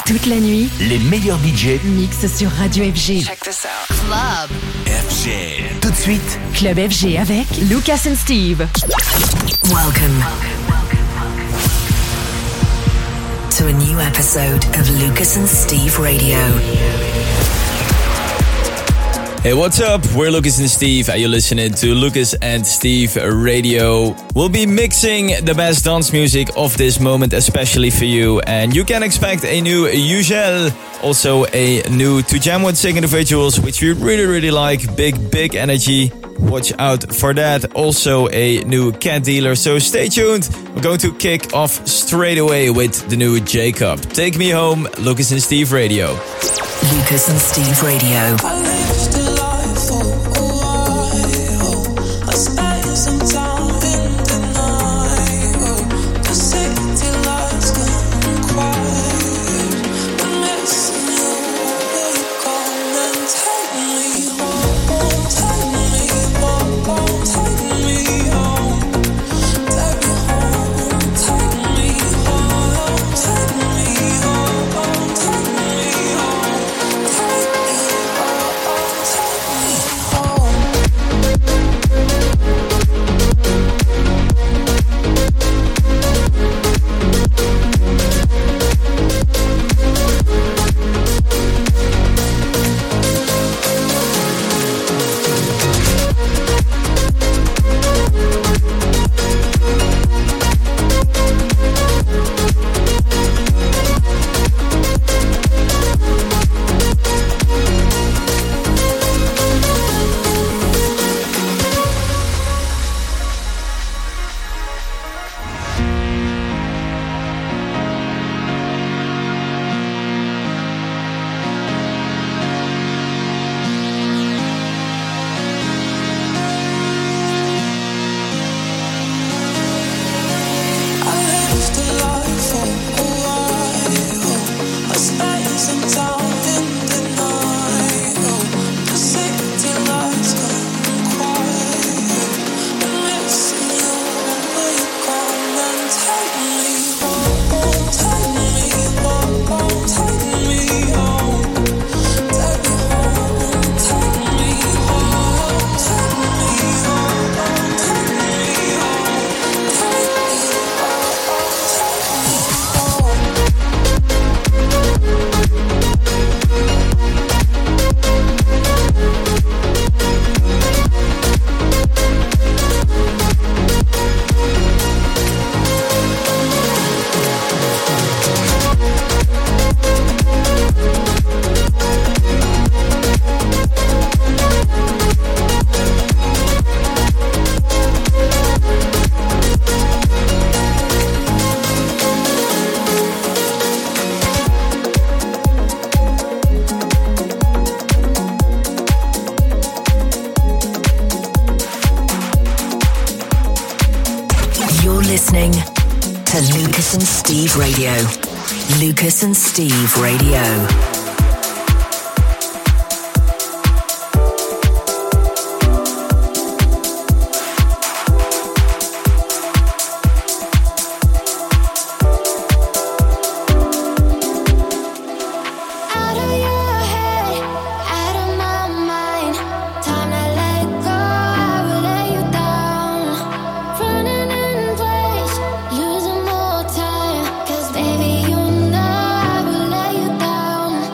Toute la nuit, les meilleurs budgets mixent sur Radio FG. Check this out. Club FG. Tout de suite, Club FG avec Lucas and Steve. Welcome to a new episode of Lucas and Steve Radio. Hey, what's up? We're Lucas and Steve, and you're listening to Lucas and Steve Radio. We'll be mixing the best dance music of this moment, especially for you. And you can expect a new Ugel, also a new To Jam With Sick Individuals, which we really like. Big energy. Watch out for that. Also a new Cat Dealer, so stay tuned. We're going to kick off straight away with the new Jacob. Take Me Home, Lucas and Steve Radio. Lucas and Steve Radio. Radio. Lucas and Steve Radio. Losing more time, 'cause baby, you know I will let you down.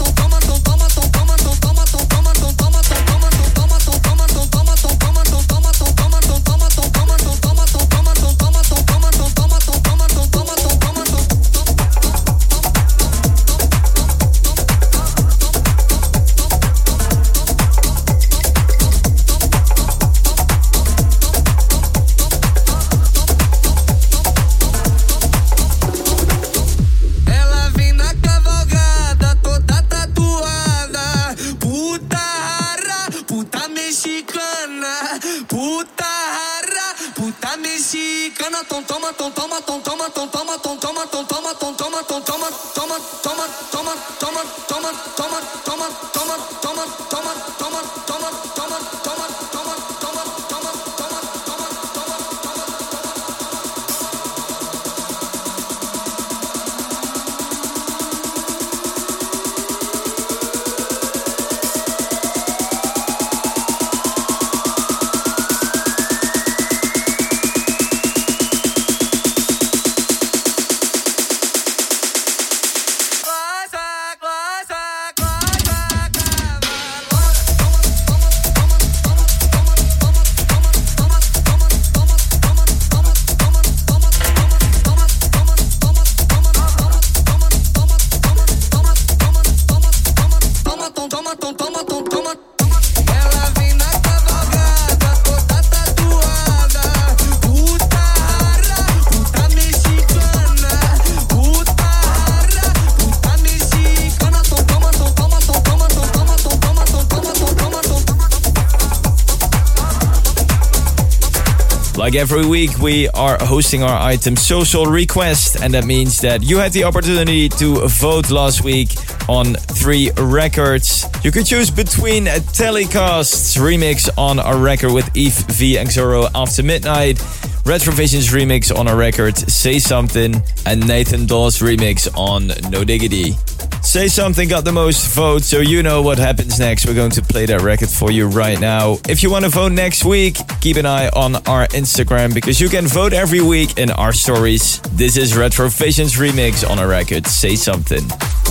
Like every week, we are hosting our item Social Request, and that means that you had the opportunity to vote last week on 3 records. You could choose between Telecast's remix on a record with Eve V and Xoro After Midnight, Retrovision's remix on a record Say Something, and Nathan Dawes' remix on No Diggity. Say Something got the most votes, so you know what happens next. We're going to play that record for you right now. If you want to vote next week, keep an eye on our Instagram because you can vote every week in our stories. This is Retrovision's remix on a record Say Something.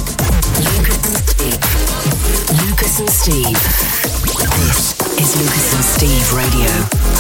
Lucas and Steve. This is Lucas and Steve Radio.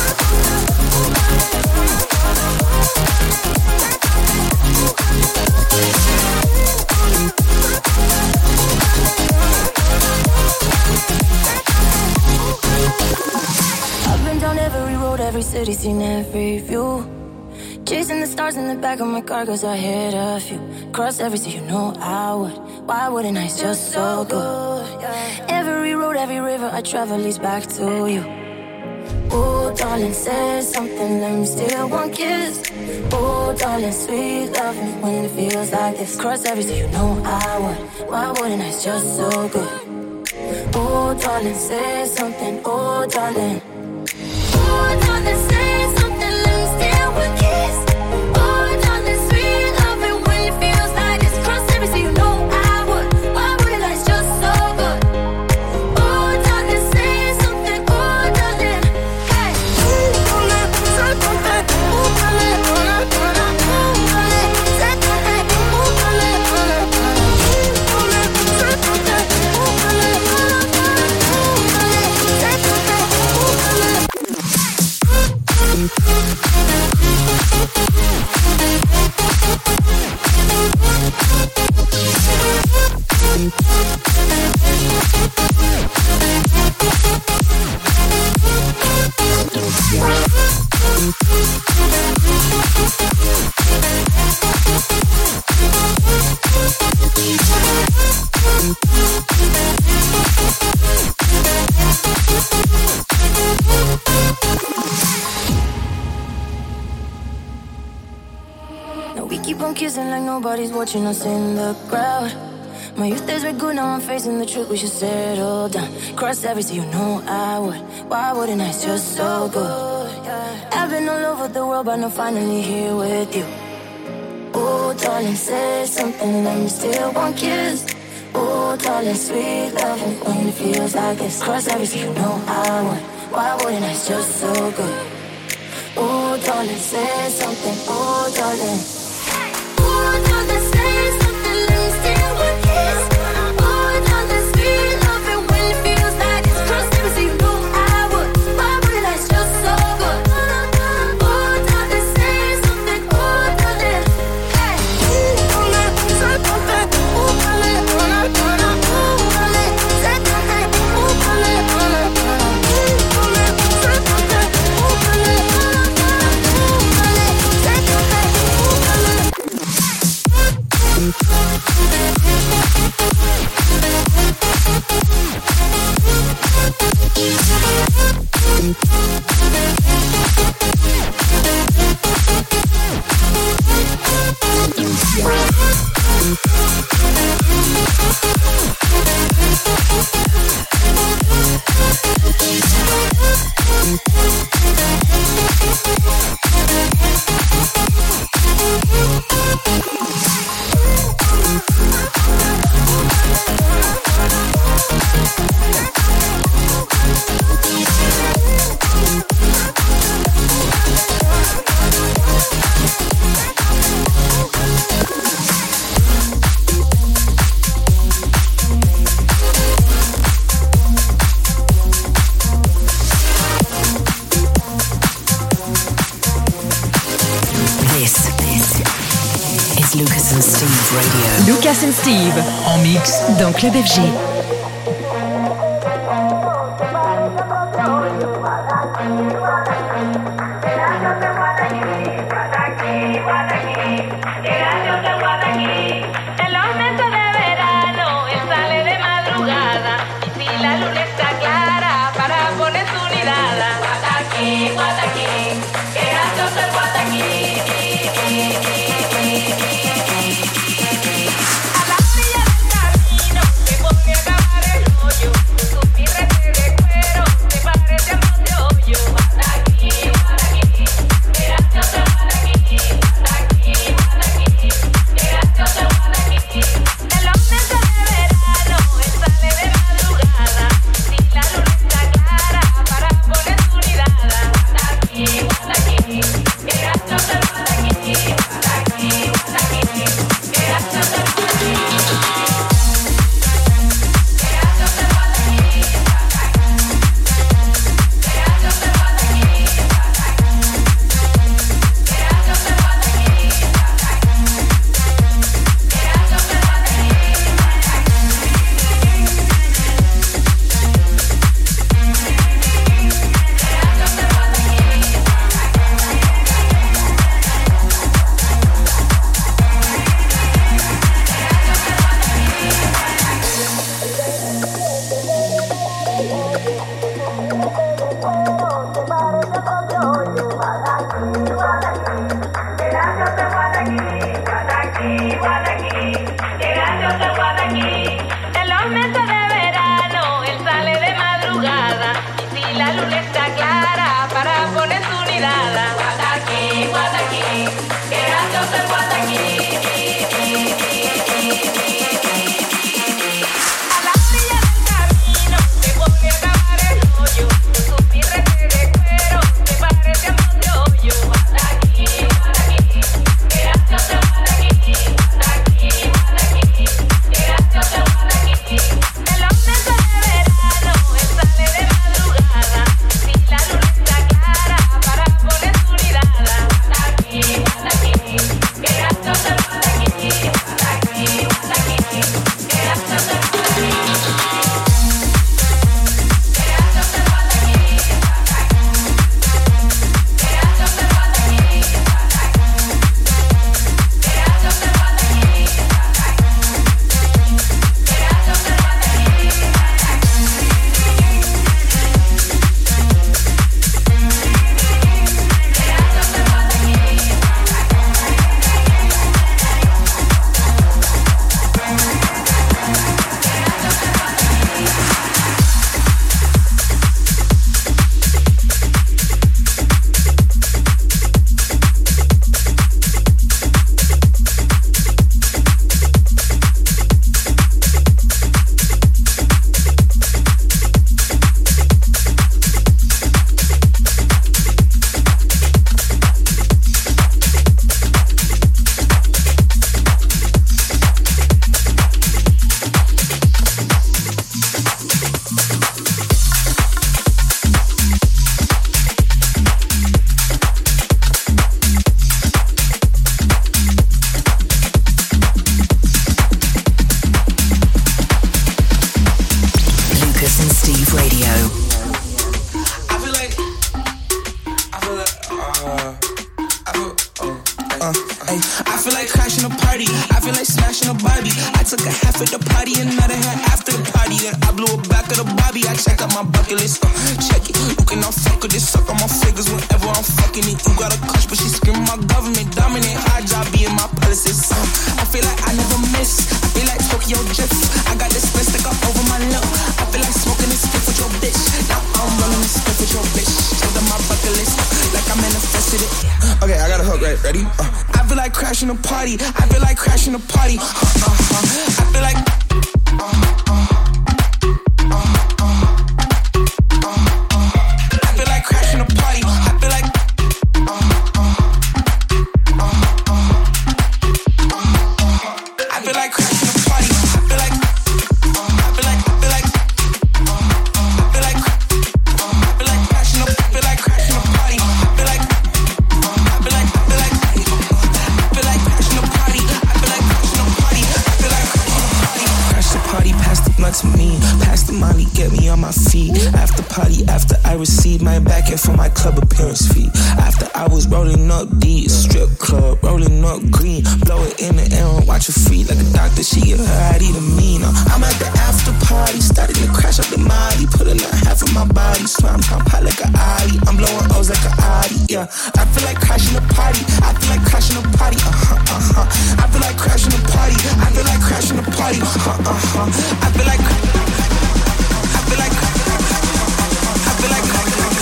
I've been down every road, every city, seen every view. Chasing the stars in the back of my car cause I hit a few. Cross every sea, you know I would. Why wouldn't I? It's just so good. Every road, every river I travel leads back to you. Oh, darling, say something, let me steal one kiss. Oh, darling, sweet love me when it feels like this. Cross every sea, you know I would. Why wouldn't I? It's just so good. Oh, darling, say something, oh, darling. Oh, darling, say something, let me steal one kiss. Oh, darling, sweet love me when it feels like this. Cross every sea, you know I would. Why wouldn't I? It's just so good. Oh, darling, say something, oh, darling. Hey. Oh, darling, say something, oh, darling. Oh, darling, say something, oh, darling. Oh, darling, say something, oh, darling. Now we keep on kissing like nobody's watching us in the crowd. My youth days were good, now I'm facing the truth, we should settle down. Cross every sea, you know I would. Why wouldn't I? It's just so good. I've been all over the world, but now finally here with you. Oh, darling, say something, let me steal one kiss. Oh, darling, sweet love when it feels like this. Cross every sea, you know I would. Why wouldn't I? It's just so good. Oh, darling, say something, oh, darling. Oh, darling, say something, let me steal one kiss. Oh, darling, sweet love when it feels like this. Cross every sea, you know I would. Why wouldn't I? It's just so good. Oh, darling, say something, oh, darling. Hey. Oh, darling, say something, oh, darling. Oh, darling, say something, oh, darling. Oh, darling, say something, oh, darling. Lucas and Steve Radio. Lucas and Steve en mix dans Club FG. Guataqui, que I feel like crashing a party. I feel like smashing a Barbie. I took a half at the party, another half after the party. Then I blew it back of the Bobby. I checked out my bucket list. Check it. You cannot fuck with this. Suck on my fingers whenever I'm fucking it. You got a crush, but she screaming my government. Dominant. High job being my policies. I feel like I never miss. I feel like Tokyo drift. I got this split stick up over my lip. I feel like smoking this stick with your bitch. Now I'm running this stick with your bitch. Checked out my bucket list. Like I manifested it. Okay, I got a hook, right? Ready? I feel like crashing a party. I feel like crashing a party. I feel like. I feel like crashing a party. I feel like. I feel like crashing a party. I feel like. I feel like. I feel like. I feel like. I feel like crashing a. I feel like crashing a party. I feel like. I feel like. I feel like. I feel like crashing a party. I feel like crashing a party. I feel like crashing a party. Crash the party, pass the blunt to me. Pass the Molly, get me on my feet. After party, after I received my back end for my club appearance fee. After I was rolling up D, strip club, rolling up green. Blow it in the air and watch her feet like a doctor. She get her ID to me. Now I'm at the after party, starting to crash up the Molly. Pulling out half of my body, slam pop hot like an Audi. I'm blowing O's like an Audi, yeah. I feel like crashing a party. I feel like crashing a party, I feel like crashing a party. I feel like crashing a party, I feel like. I feel like. I feel like.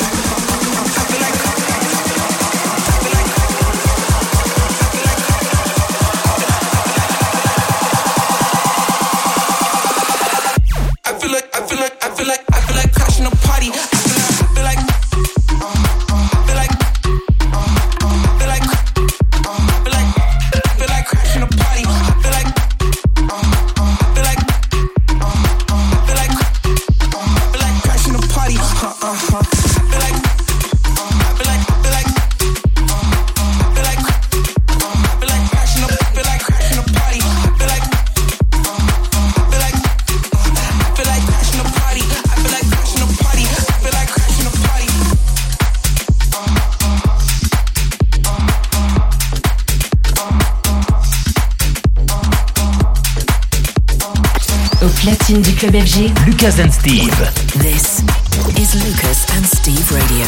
I feel like crashing a party. I feel like crashing a party. I feel like crashing a party. Platine du club FG, Lucas and Steve. This is Lucas and Steve Radio.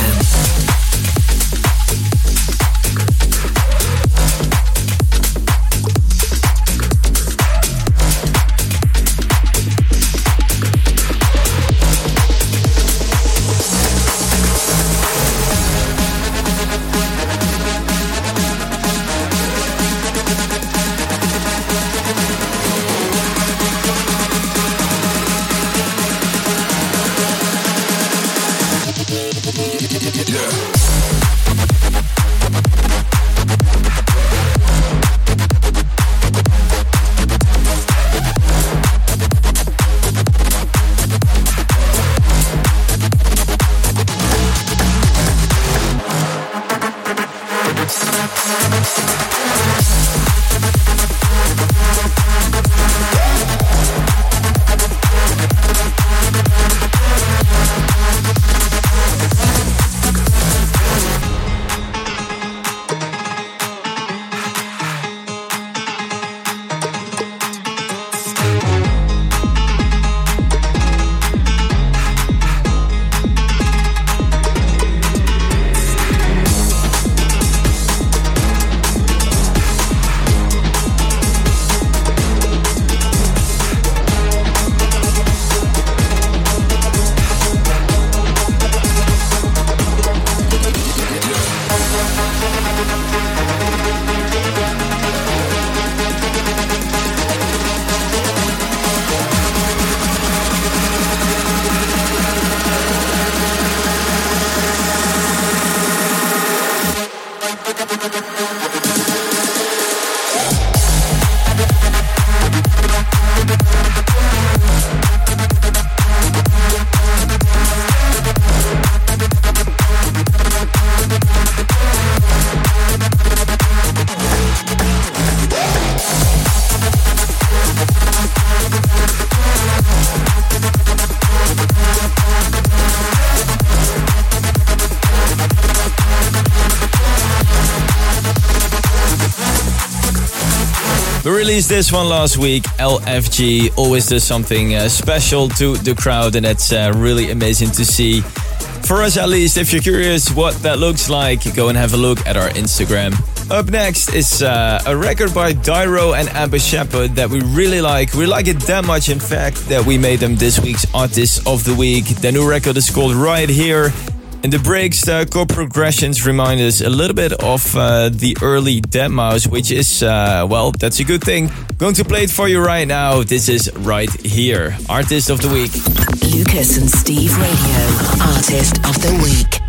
We released this one last week. LFG always does something special to the crowd, and that's really amazing to see. For us at least, if you're curious what that looks like, go and have a look at our Instagram. Up next is a record by Dyro and Abba Shepherd that we really like. We like it that much, in fact, that we made them this week's Artist of the Week. The new record is called Right Here. In the breaks, the chord progressions remind us a little bit of the early Deadmau5, which is, well, that's a good thing. Going to play it for you right now. This is Right Here, Artist of the Week. Lucas and Steve Radio, Artist of the Week.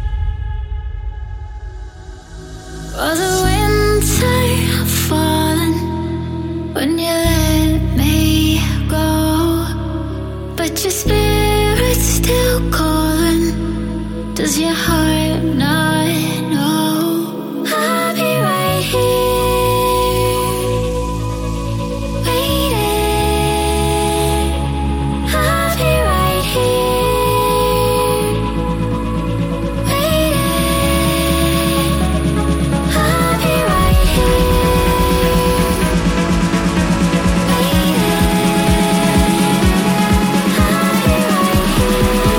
Was the winter falling when you let me go? But your spirit's still calling. Does your heart not know? I'll be right here, waiting. I'll be right here, waiting. I'll be right here, waiting. I'll be right here.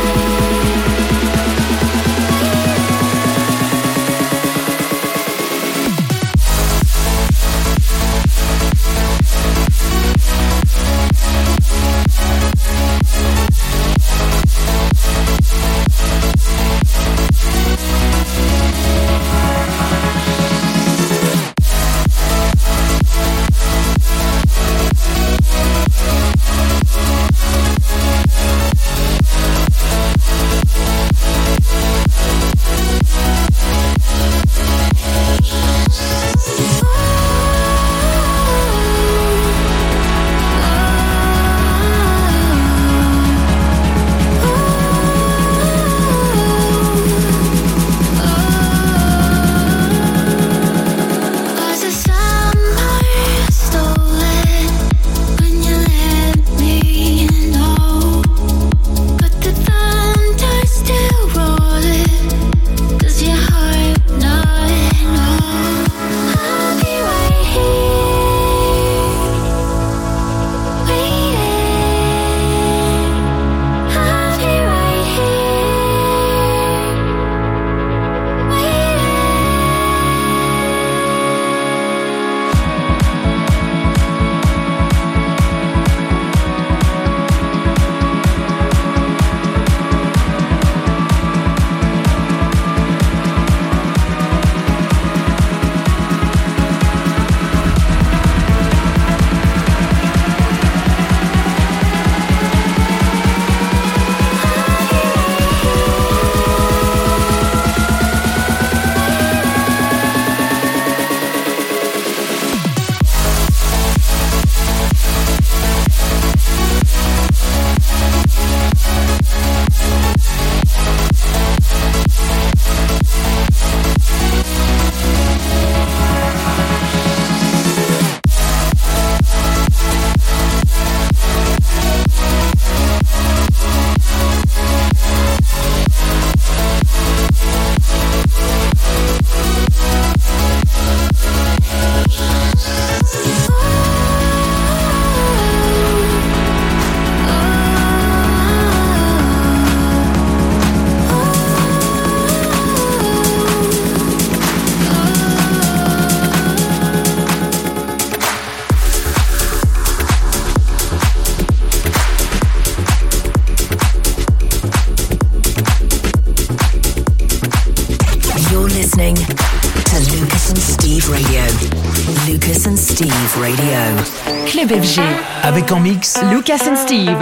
Club FG. Avec en mix Lucas and Steve.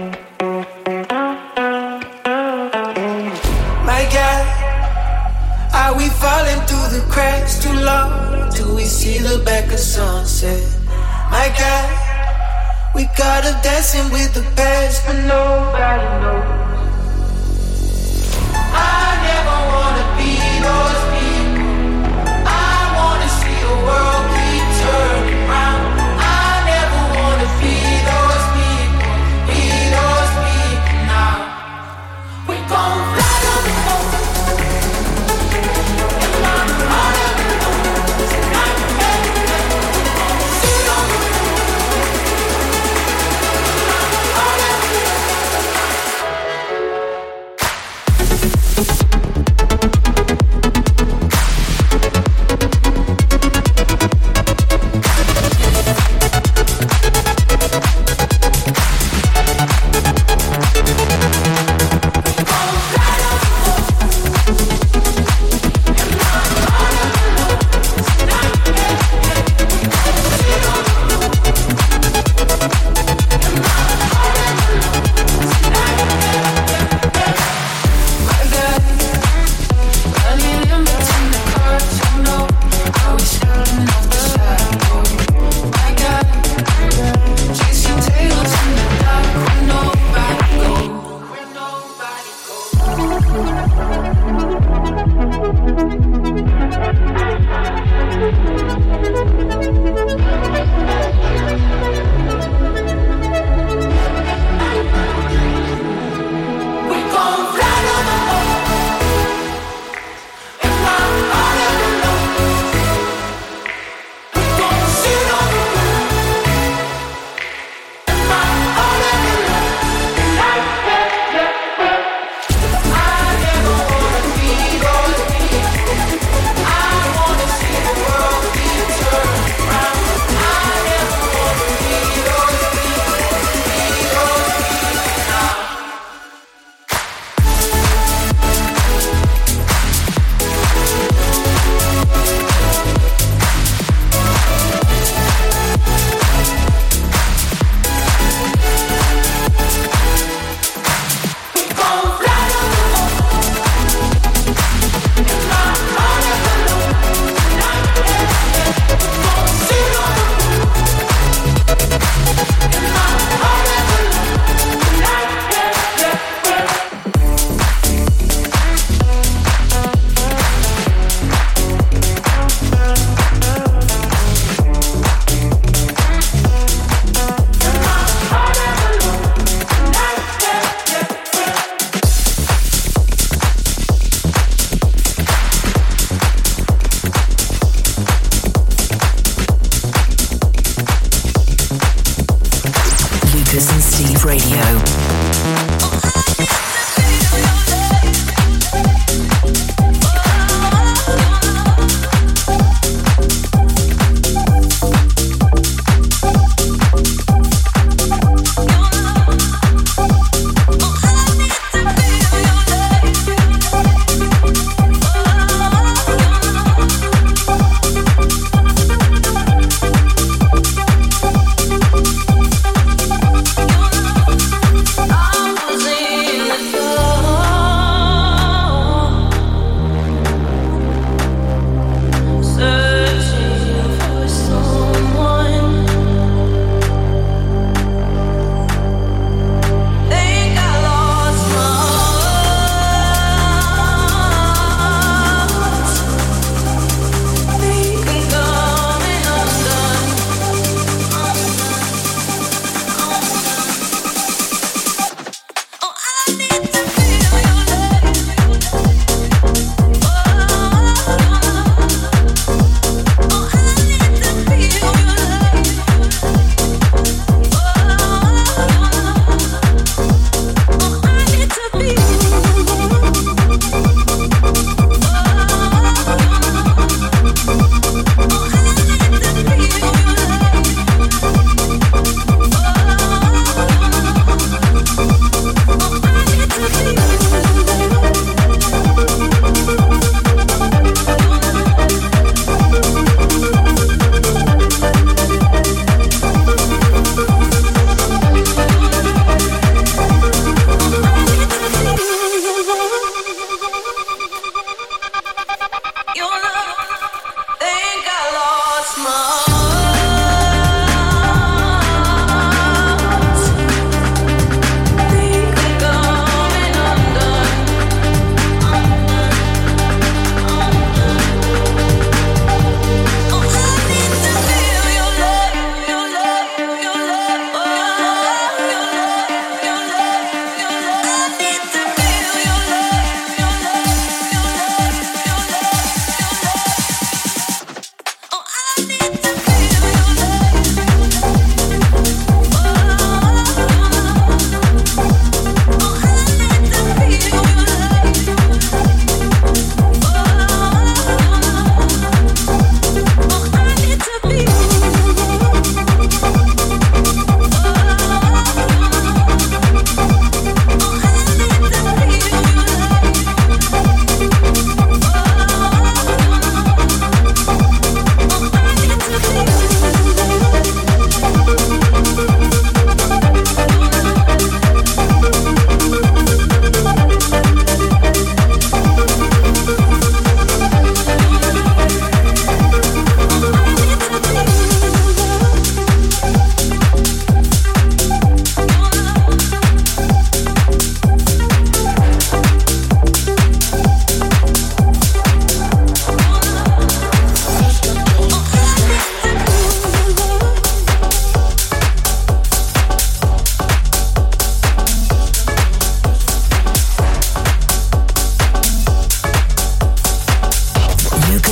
My God, are we falling through the cracks too long till we see the back of sunset? My God, we got up dancing with the past, but nobody knows. I never wanna be those people. I wanna see the world keep turning round. See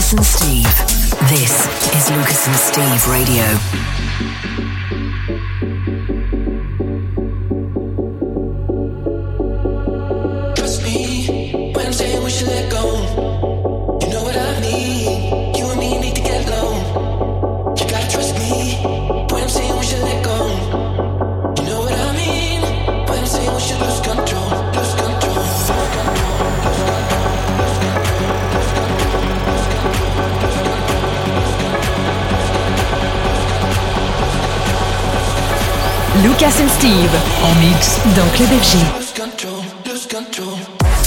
Lucas and Steve. This is Lucas and Steve Radio. Lucas and Steve en mix dans Club FG. Lose control, lose control.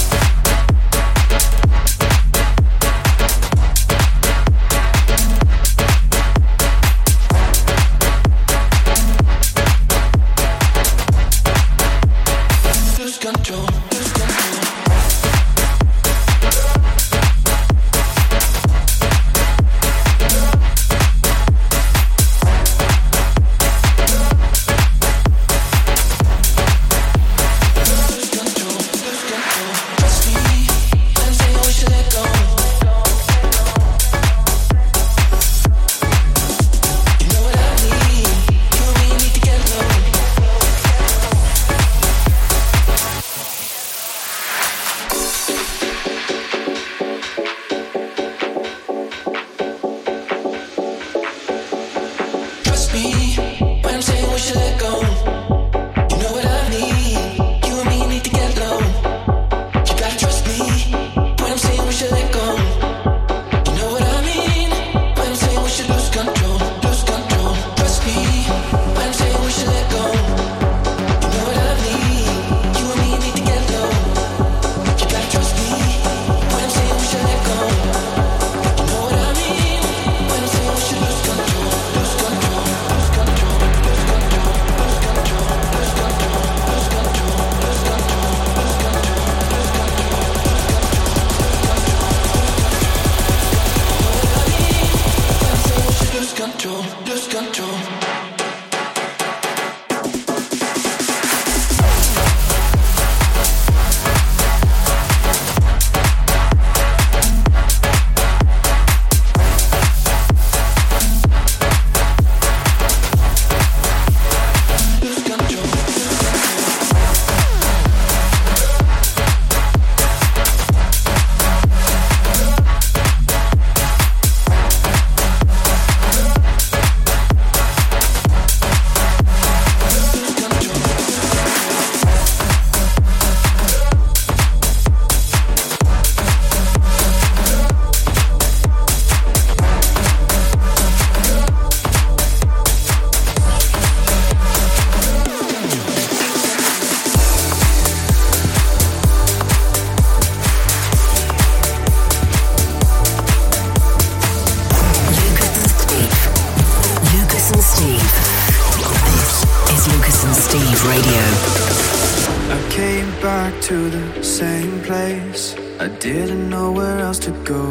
To the same place, I didn't know where else to go.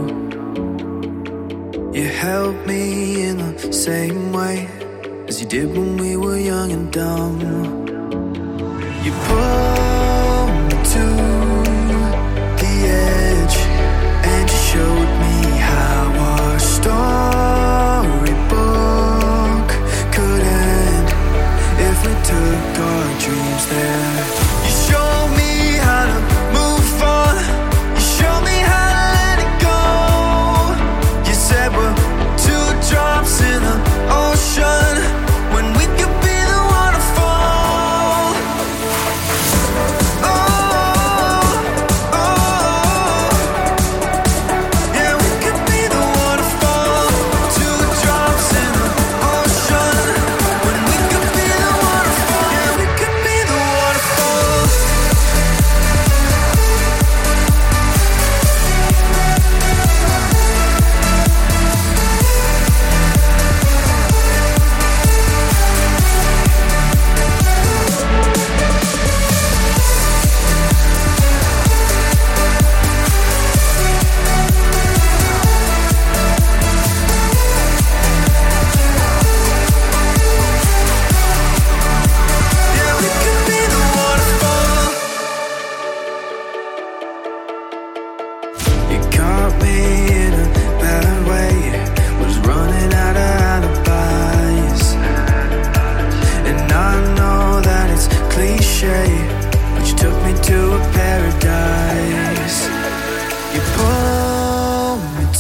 You held me in the same way as you did when we were young and dumb. You pulled me to the edge and you showed me how our storybook could end if we took our dreams there. You showed me how to move on. You show me how to let it go. You said we're two drops in the ocean when we could be the waterfall.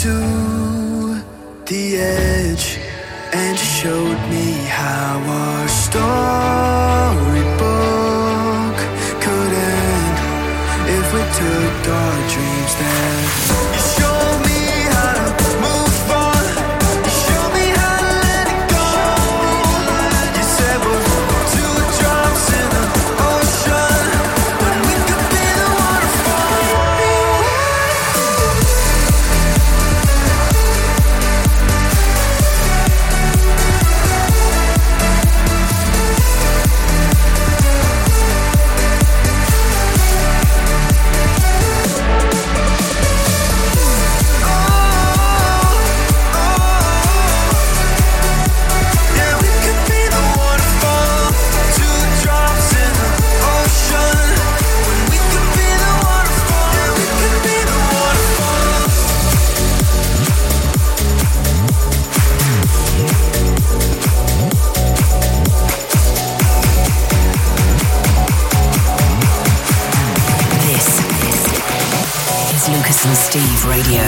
to the edge and showed me how our storybook could end if we took our dreams there. You showed me how to move on. You showed me how to let it go. You said we're two drops in the ocean when we could be the waterfall. Lucas and Steve Radio.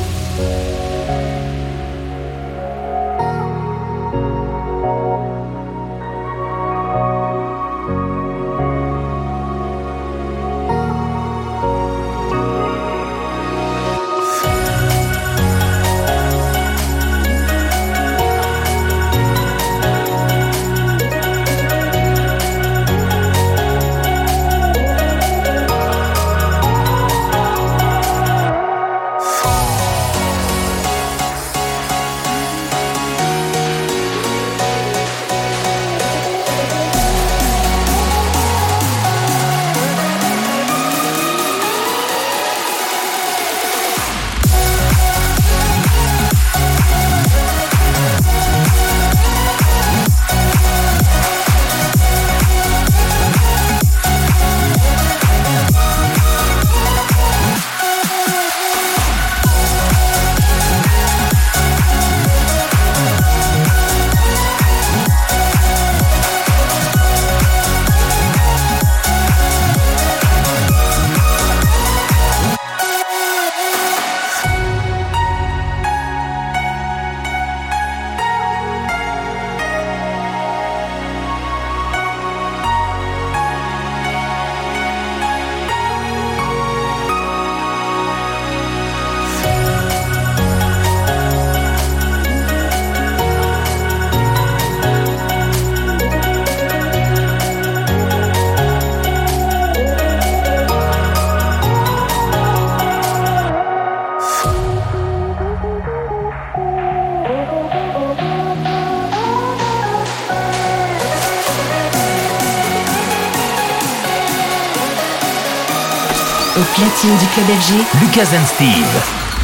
Au platine du club FG, Lucas and Steve.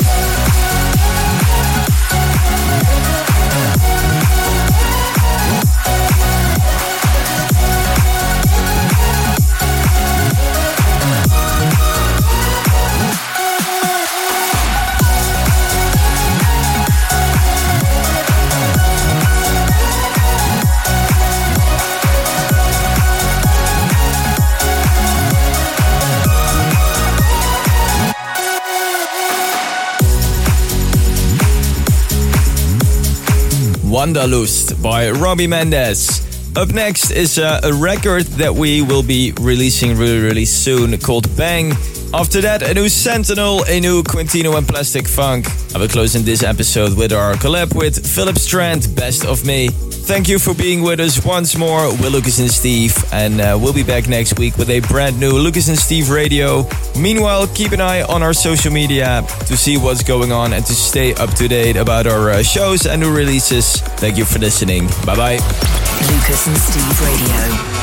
Wanderlust by Robbie Mendes. Up next is a record that we will be releasing really soon called Bang. After that, a new Sentinel, a new Quintino and Plastic Funk. I will close in this episode with our collab with Philip Strand, Best of Me. Thank you for being with us once more. We're Lucas and Steve, and we'll be back next week with a brand new Lucas and Steve Radio. Meanwhile, keep an eye on our social media to see what's going on and to stay up to date about our shows and new releases. Thank you for listening. Bye-bye. Lucas and Steve Radio.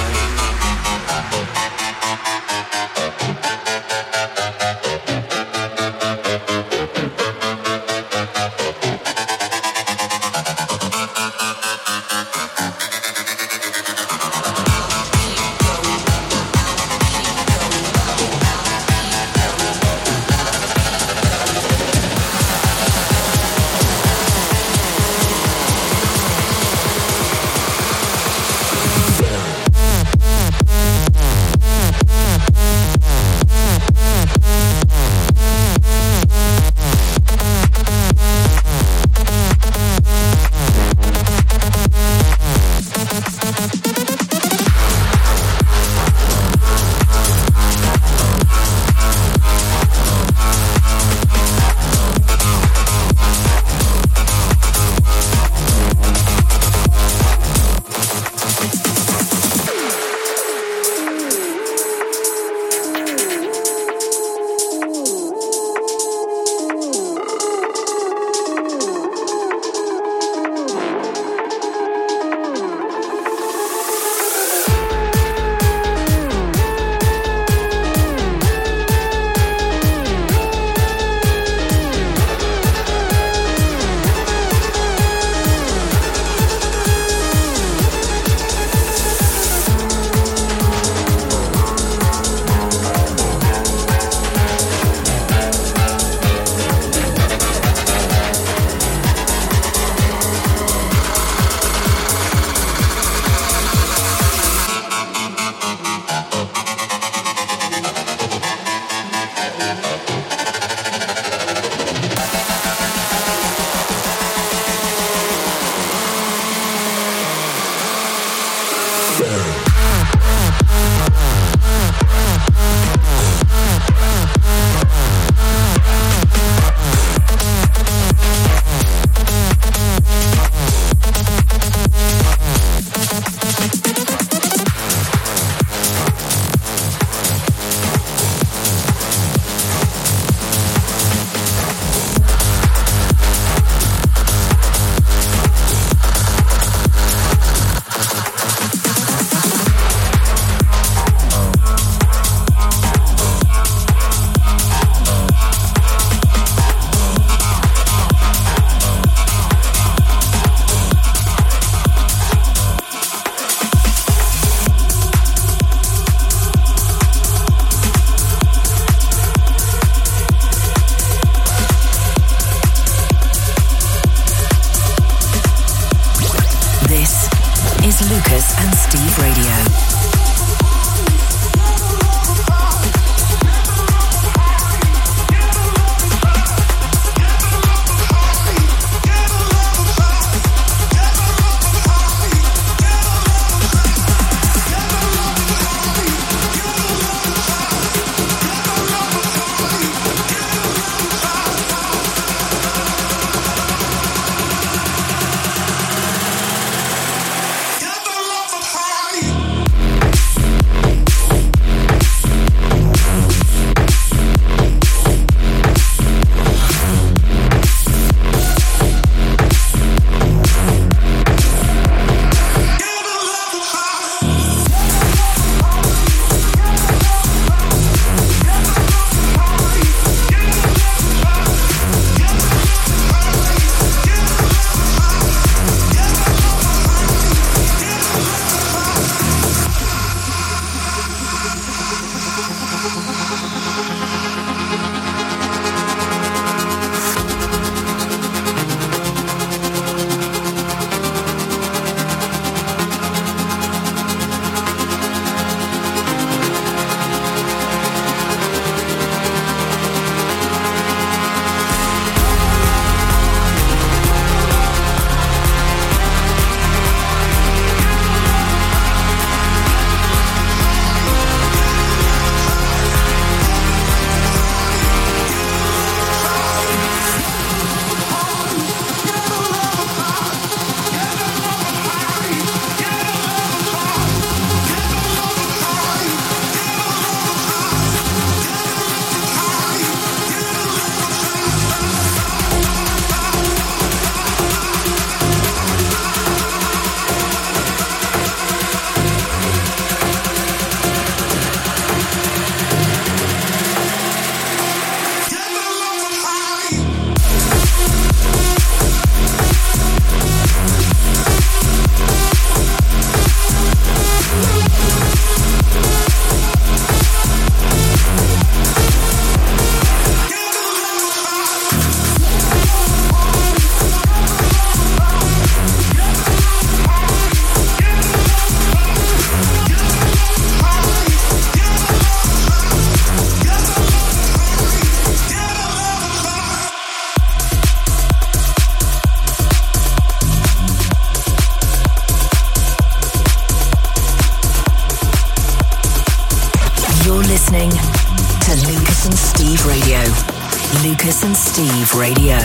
Lucas and Steve Radio.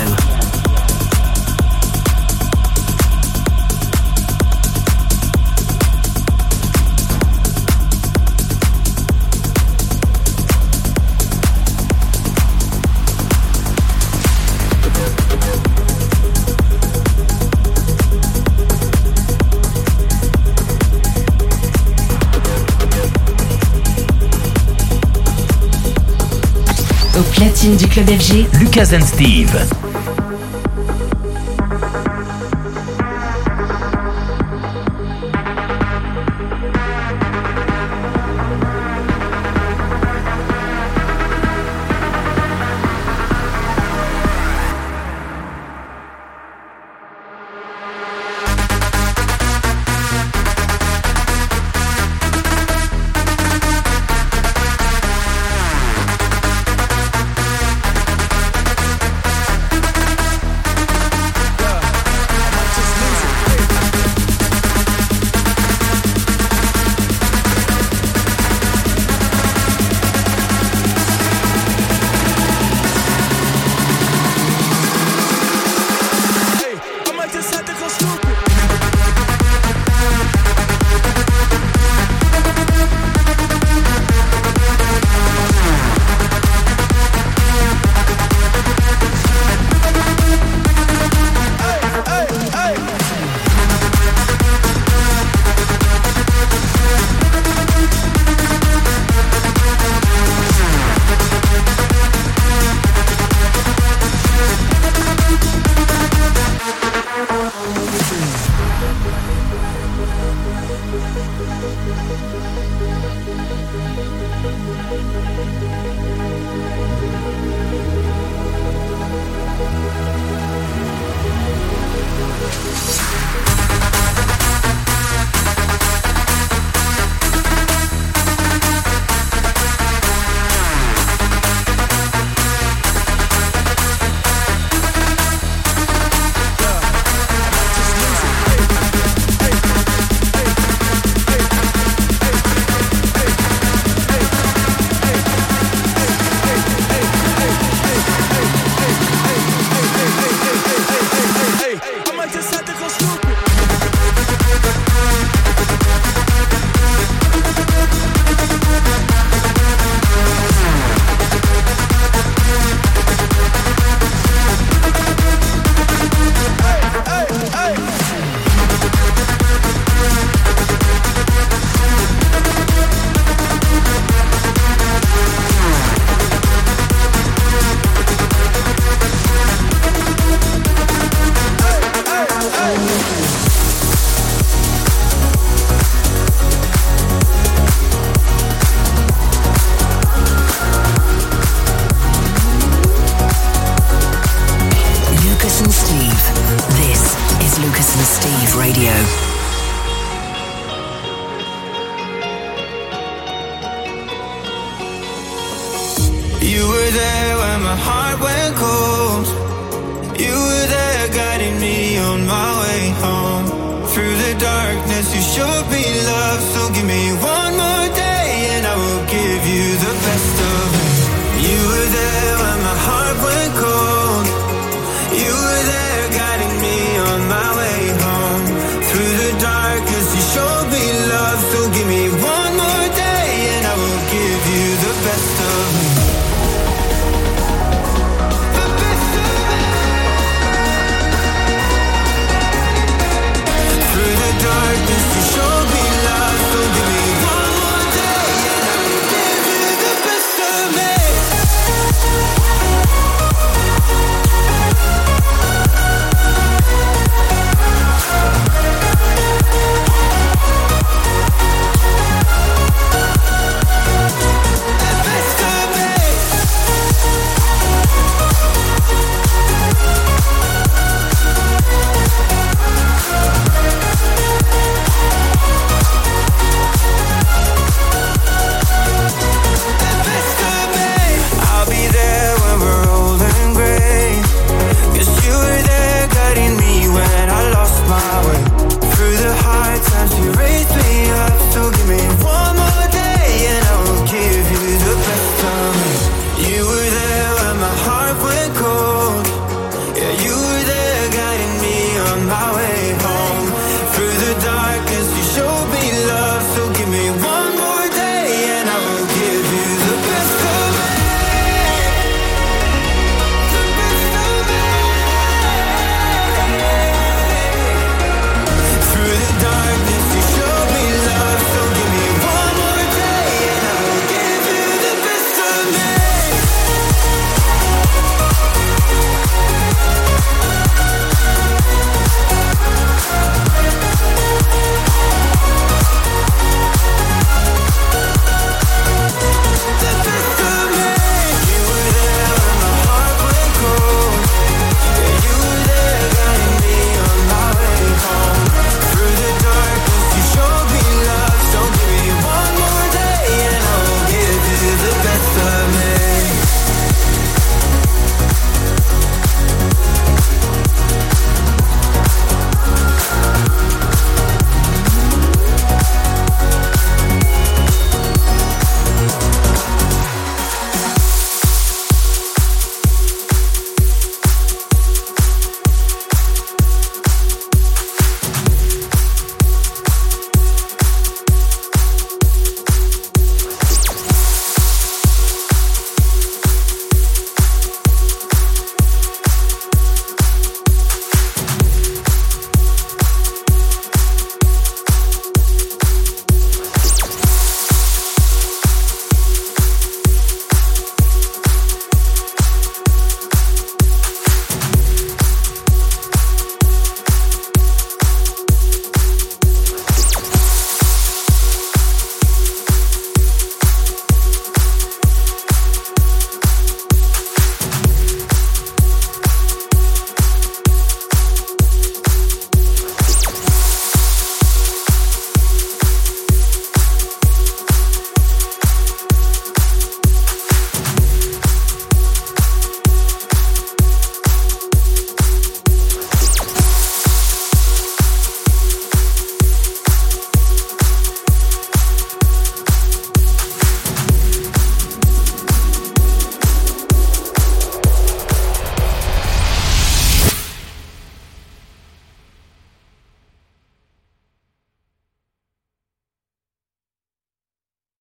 Au platine du club FG, Lucas and Steve. You were there when my heart went cold. You were there guiding me on my way home. Through the darkness you showed me love, so give me